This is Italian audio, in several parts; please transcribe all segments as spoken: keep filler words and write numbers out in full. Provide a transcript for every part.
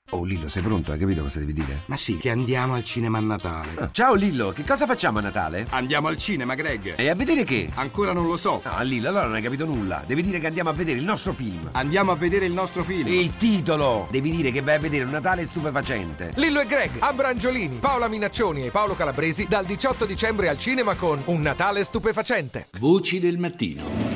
Oh Lillo, sei pronto? Hai capito cosa devi dire? Ma sì, che andiamo al cinema a Natale. Ah, ciao Lillo, che cosa facciamo a Natale? Andiamo al cinema, Greg. E a vedere che? Ancora non lo so. No, Lillo, allora non hai capito nulla. Devi dire che andiamo a vedere il nostro film. Andiamo a vedere il nostro film. Il titolo! Devi dire che vai a vedere un Natale stupefacente. Lillo e Greg, Abrangiolini, Paola Minaccioni e Paolo Calabresi dal diciotto dicembre al cinema con Un Natale stupefacente. Voci del mattino.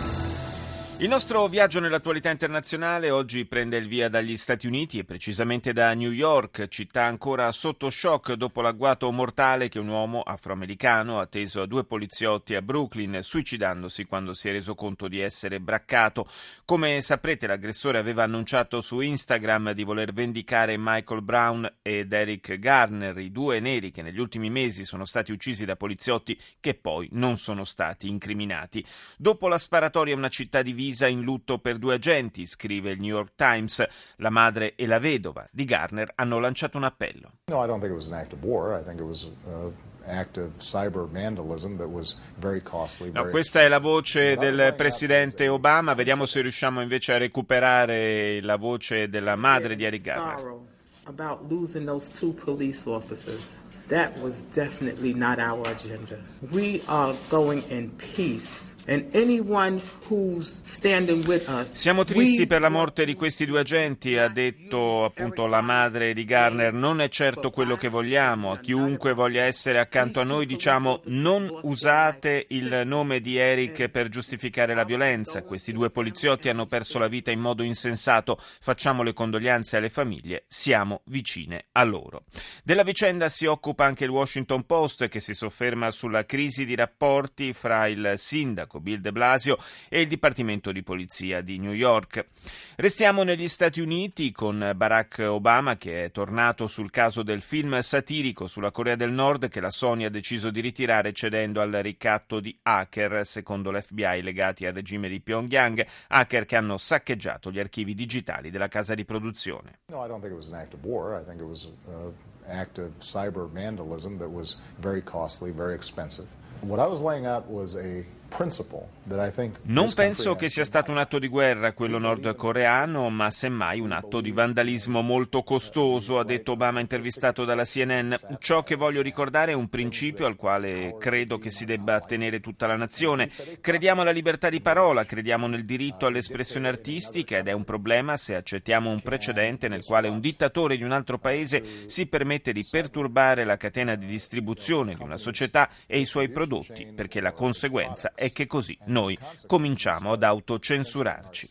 Il nostro viaggio nell'attualità internazionale oggi prende il via dagli Stati Uniti e precisamente da New York, città ancora sotto shock dopo l'agguato mortale che un uomo afroamericano ha teso a due poliziotti a Brooklyn, suicidandosi quando si è reso conto di essere braccato. Come saprete, l'aggressore aveva annunciato su Instagram di voler vendicare Michael Brown ed Eric Garner, i due neri che negli ultimi mesi sono stati uccisi da poliziotti che poi non sono stati incriminati. Dopo la sparatoria, una città divisa in lutto per due agenti, scrive il New York Times. La madre e la vedova di Garner hanno lanciato un appello. No, I don't think it was an act of war. I think it was an act of cyber vandalism that was very costly. No, questa è la voce del presidente Obama. Vediamo se riusciamo invece a recuperare la voce della madre di Eric Garner. About losing those two police officers. That was definitely not our agenda. We are going in peace. And anyone who's standing with us, siamo tristi per la morte di questi due agenti, ha detto appunto la madre di Garner. Non è certo quello che vogliamo. A chiunque voglia essere accanto a noi diciamo: non usate il nome di Eric per giustificare la violenza. Questi due poliziotti hanno perso la vita in modo insensato. Facciamo le condoglianze alle famiglie, siamo vicine a loro. Della vicenda si occupa anche il Washington Post, che si sofferma sulla crisi di rapporti fra il sindaco Bill de Blasio e il Dipartimento di Polizia di New York. Restiamo negli Stati Uniti con Barack Obama, che è tornato sul caso del film satirico sulla Corea del Nord che la Sony ha deciso di ritirare cedendo al ricatto di hacker, secondo l'F B I, legati al regime di Pyongyang, hacker che hanno saccheggiato gli archivi digitali della casa di produzione. No, I don't think it was an act of war. I think it was an act of cyber vandalism that was very costly, very expensive. What I was laying out was a Non penso che sia stato un atto di guerra quello nordcoreano, ma semmai un atto di vandalismo molto costoso, ha detto Obama intervistato dalla C N N. Ciò che voglio ricordare è un principio al quale credo che si debba attenere tutta la nazione. Crediamo alla libertà di parola, crediamo nel diritto all'espressione artistica ed è un problema se accettiamo un precedente nel quale un dittatore di un altro paese si permette di perturbare la catena di distribuzione di una società e i suoi prodotti, perché la conseguenza è che così noi cominciamo ad autocensurarci.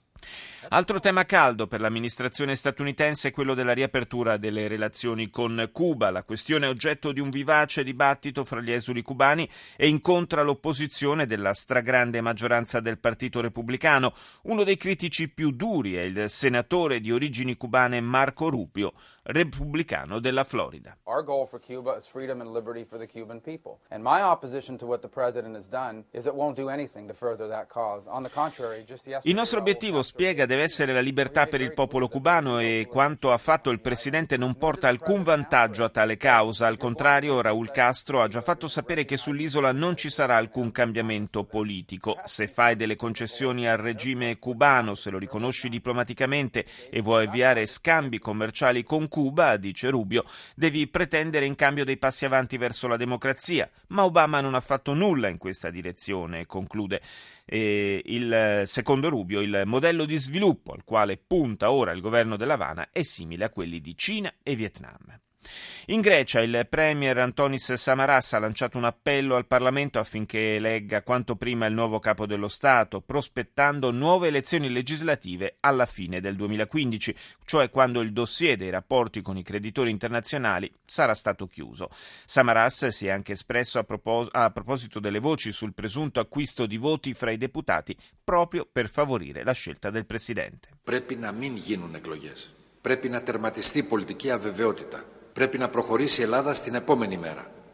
Altro tema caldo per l'amministrazione statunitense è quello della riapertura delle relazioni con Cuba. La questione è oggetto di un vivace dibattito fra gli esuli cubani e incontra l'opposizione della stragrande maggioranza del Partito Repubblicano. Uno dei critici più duri è il senatore di origini cubane Marco Rubio, repubblicano della Florida. Our goal for Cuba is freedom and liberty for the Cuban people. And my opposition to what the president has done is it won't do anything to further that cause. On the contrary, just yesterday. Il nostro obiettivo, spiega, deve essere la libertà per il popolo cubano e quanto ha fatto il presidente non porta alcun vantaggio a tale causa. Al contrario, Raúl Castro ha già fatto sapere che sull'isola non ci sarà alcun cambiamento politico. Se fai delle concessioni al regime cubano, se lo riconosci diplomaticamente e vuoi avviare scambi commerciali con Cuba, dice Rubio, devi pretendere in cambio dei passi avanti verso la democrazia. Ma Obama non ha fatto nulla in questa direzione, conclude. E il, secondo Rubio, il modello di sviluppo al quale punta ora il governo dell'Havana è simile a quelli di Cina e Vietnam. In Grecia il premier Antonis Samaras ha lanciato un appello al Parlamento affinché elegga quanto prima il nuovo capo dello Stato, prospettando nuove elezioni legislative alla fine del duemilaquindici, cioè quando il dossier dei rapporti con i creditori internazionali sarà stato chiuso. Samaras si è anche espresso a, propos- a proposito delle voci sul presunto acquisto di voti fra i deputati proprio per favorire la scelta del presidente. Πρέπει να μην γίνουν εκλογές. Πρέπει να τερματιστεί η πολιτική αβεβαιότητα. Πρέπει να προχωρήσει η Ελλάδα στην επόμενη μέρα.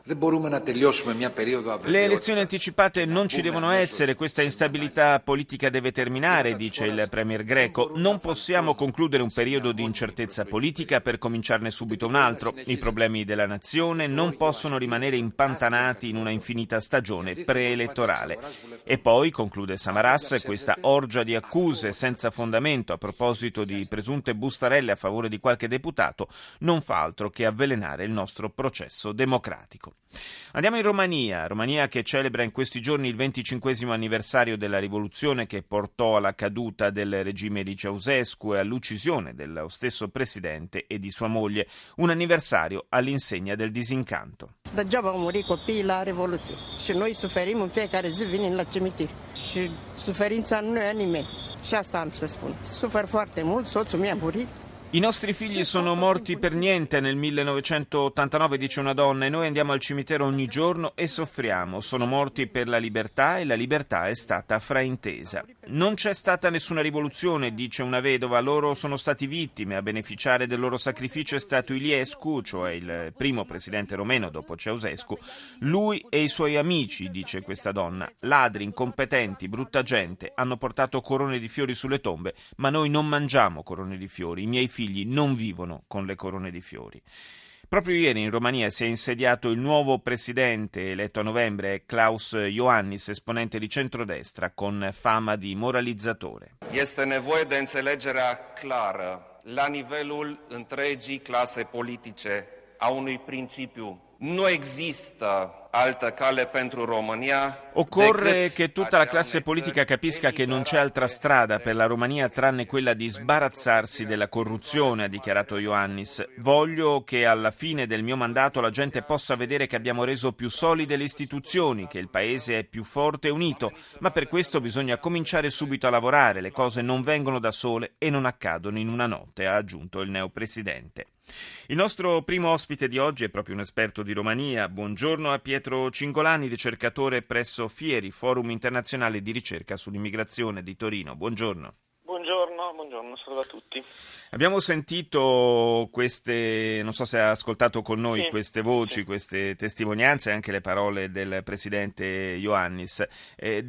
Le elezioni anticipate non ci devono essere, questa instabilità politica deve terminare, dice il premier greco. Non possiamo concludere un periodo di incertezza politica per cominciarne subito un altro. I problemi della nazione non possono rimanere impantanati in una infinita stagione preelettorale. E poi, conclude Samaras, questa orgia di accuse senza fondamento a proposito di presunte bustarelle a favore di qualche deputato non fa altro che avvelenare il nostro processo democratico. Andiamo in Romania, Romania che celebra in questi giorni il venticinquesimo anniversario della rivoluzione che portò alla caduta del regime di Ceausescu e all'uccisione dello stesso presidente e di sua moglie, un anniversario all'insegna del disincanto. Degeaba au murit copiii la Revoluție și noi suferim în fiecare zi venind la cimitir și suferința nu e a nimeni și asta am să spun. Sufer foarte mult, soțul meu a murit. I nostri figli sono morti per niente nel millenovecentottantanove, dice una donna, e noi andiamo al cimitero ogni giorno e soffriamo. Sono morti per la libertà e la libertà è stata fraintesa. Non c'è stata nessuna rivoluzione, dice una vedova, loro sono stati vittime. A beneficiare del loro sacrificio è stato Iliescu, cioè il primo presidente romeno dopo Ceausescu. Lui e i suoi amici, dice questa donna, ladri, incompetenti, brutta gente, hanno portato corone di fiori sulle tombe, ma noi non mangiamo corone di fiori, i miei figli non vivono con le corone di fiori. Proprio ieri in Romania si è insediato il nuovo presidente eletto a novembre, Klaus Iohannis, esponente di centrodestra con fama di moralizzatore. Este nevoie de înțelegerea clară la nivelul întregii clase politice a unui principiu. Nu există altă cale pentru România. Occorre che tutta la classe politica capisca che non c'è altra strada per la Romania tranne quella di sbarazzarsi della corruzione, ha dichiarato Iohannis. Voglio che alla fine del mio mandato la gente possa vedere che abbiamo reso più solide le istituzioni, che il paese è più forte e unito, ma per questo bisogna cominciare subito a lavorare, le cose non vengono da sole e non accadono in una notte, ha aggiunto il neopresidente. Il nostro primo ospite di oggi è proprio un esperto di Romania. Buongiorno a Pietro Cingolani, ricercatore presso Fieri, Forum Internazionale di Ricerca sull'Immigrazione di Torino. Buongiorno. Buongiorno, buongiorno, saluto a tutti. Abbiamo sentito queste, non so se ha ascoltato con noi, sì, queste voci, sì, queste testimonianze, anche le parole del presidente Iohannis. Eh,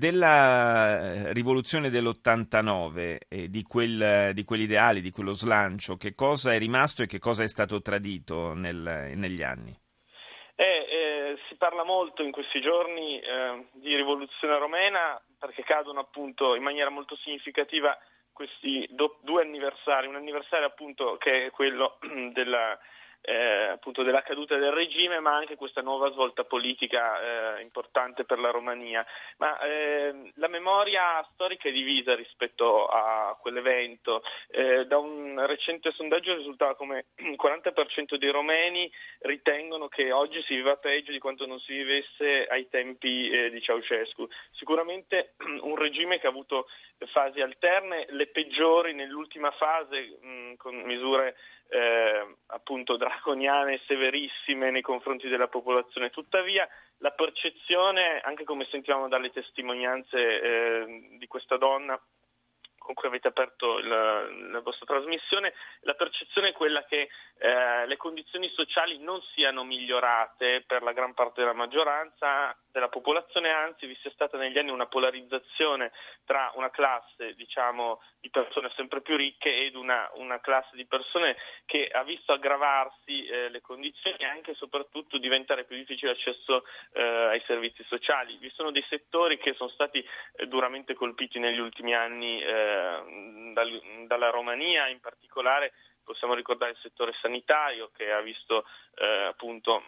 della rivoluzione dell'ottantanove, eh, di, quel, di quegli ideali, di quello slancio, che cosa è rimasto e che cosa è stato tradito nel, negli anni? Eh, eh, si parla molto in questi giorni eh, di rivoluzione romena perché cadono appunto in maniera molto significativa questi do, due anniversari, un anniversario appunto che è quello della, eh, appunto della caduta del regime, ma anche questa nuova svolta politica eh, importante per la Romania. Ma eh, la memoria storica è divisa rispetto a quell'evento. Eh, da un recente sondaggio risultava come il quaranta per cento dei romeni ritengono che oggi si viva peggio di quanto non si vivesse ai tempi eh, di Ceausescu. Sicuramente un regime che ha avuto fasi alterne, le peggiori nell'ultima fase mh, con misure eh, appunto draconiane e severissime nei confronti della popolazione. Tuttavia la percezione, anche come sentivamo dalle testimonianze eh, di questa donna con cui avete aperto la, la vostra trasmissione, la percezione è quella che eh, le condizioni sociali non siano migliorate per la gran parte della maggioranza della popolazione, anzi vi sia stata negli anni una polarizzazione tra una classe, diciamo, di persone sempre più ricche ed una, una classe di persone che ha visto aggravarsi eh, le condizioni e anche e soprattutto diventare più difficile l'accesso eh, ai servizi sociali. Vi sono dei settori che sono stati eh, duramente colpiti negli ultimi anni eh, dal, dalla Romania, in particolare possiamo ricordare il settore sanitario che ha visto eh, appunto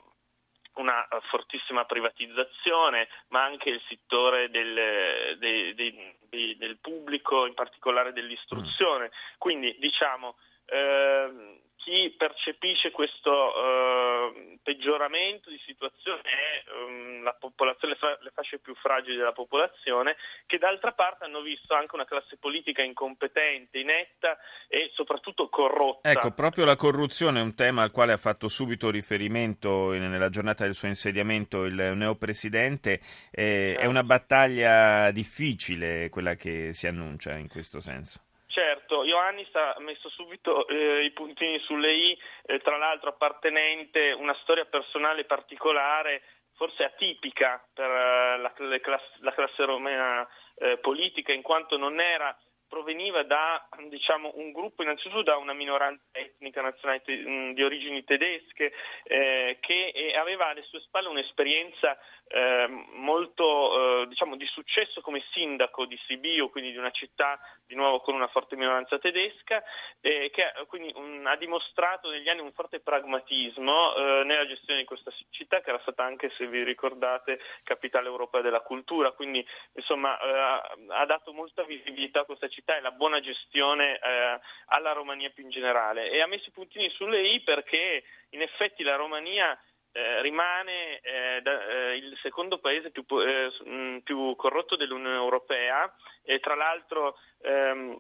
una fortissima privatizzazione, ma anche il settore del, dei, dei, dei, del pubblico, in particolare dell'istruzione. Quindi diciamo eh, chi percepisce questo eh, peggioramento di situazione è um, la popolazione, le fasce più fragili della popolazione, che d'altra parte hanno visto anche una classe politica incompetente, inetta e soprattutto corrotta. Ecco, proprio la corruzione è un tema al quale ha fatto subito riferimento in, nella giornata del suo insediamento il neopresidente. Eh, è una battaglia difficile quella che si annuncia in questo senso. Certo, Iohannis ha messo subito eh, i puntini sulle i, eh, tra l'altro appartenente una storia personale particolare forse atipica per la, la, classe, la classe romena eh, politica, in quanto non era proveniva da, diciamo, un gruppo, innanzitutto da una minoranza etnica nazionale te- di origini tedesche eh, che eh, aveva alle sue spalle un'esperienza eh, molto eh, diciamo di successo come sindaco di Sibiu, quindi di una città di nuovo con una forte minoranza tedesca, eh, che quindi un, ha dimostrato negli anni un forte pragmatismo eh, nella gestione di questa città, che era stata anche, se vi ricordate, capitale europea della cultura, quindi insomma eh, ha dato molta visibilità a questa città e la buona gestione eh, alla Romania più in generale, e ha messo i puntini sulle i perché in effetti la Romania eh, rimane eh, da, eh, il secondo paese più, eh, mh, più corrotto dell'Unione Europea, e tra l'altro ehm,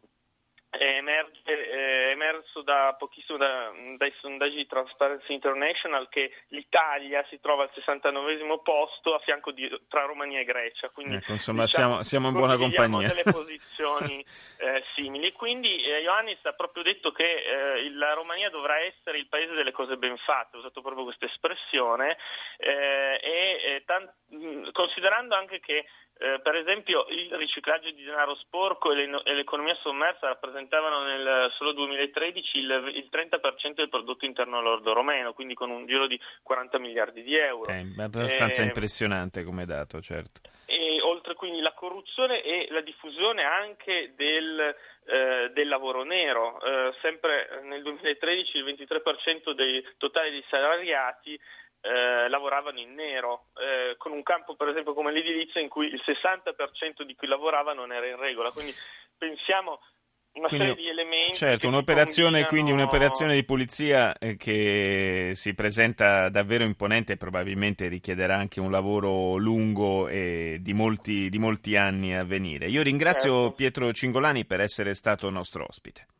è, emerge, è emerso da pochissimo da, dai sondaggi di Transparency International che l'Italia si trova al sessantanovesimo posto a fianco di, tra Romania e Grecia, quindi ecco, insomma diciamo, siamo, siamo in buona compagnia. delle posizioni eh, simili, quindi eh, Iohannis ha proprio detto che eh, la Romania dovrà essere il paese delle cose ben fatte, ha usato proprio questa espressione eh, e eh, tant- considerando anche che Eh, per esempio il riciclaggio di denaro sporco e, le, e l'economia sommersa rappresentavano nel solo duemilatredici il, il trenta per cento del prodotto interno lordo romeno, quindi con un giro di quaranta miliardi di euro. È abbastanza eh, impressionante come dato, certo. E oltre quindi la corruzione e la diffusione anche del, eh, del lavoro nero. Eh, sempre nel duemilatredici il ventitré per cento dei totali dei salariati Eh, lavoravano in nero, eh, con un campo per esempio come l'edilizia in cui il sessanta per cento di chi lavorava non era in regola, quindi pensiamo una Quindi, serie di elementi. certo, un'operazione, quindi un'operazione di pulizia eh, che si presenta davvero imponente e probabilmente richiederà anche un lavoro lungo e di molti, di molti anni a venire. Io ringrazio certo. Pietro Cingolani per essere stato nostro ospite.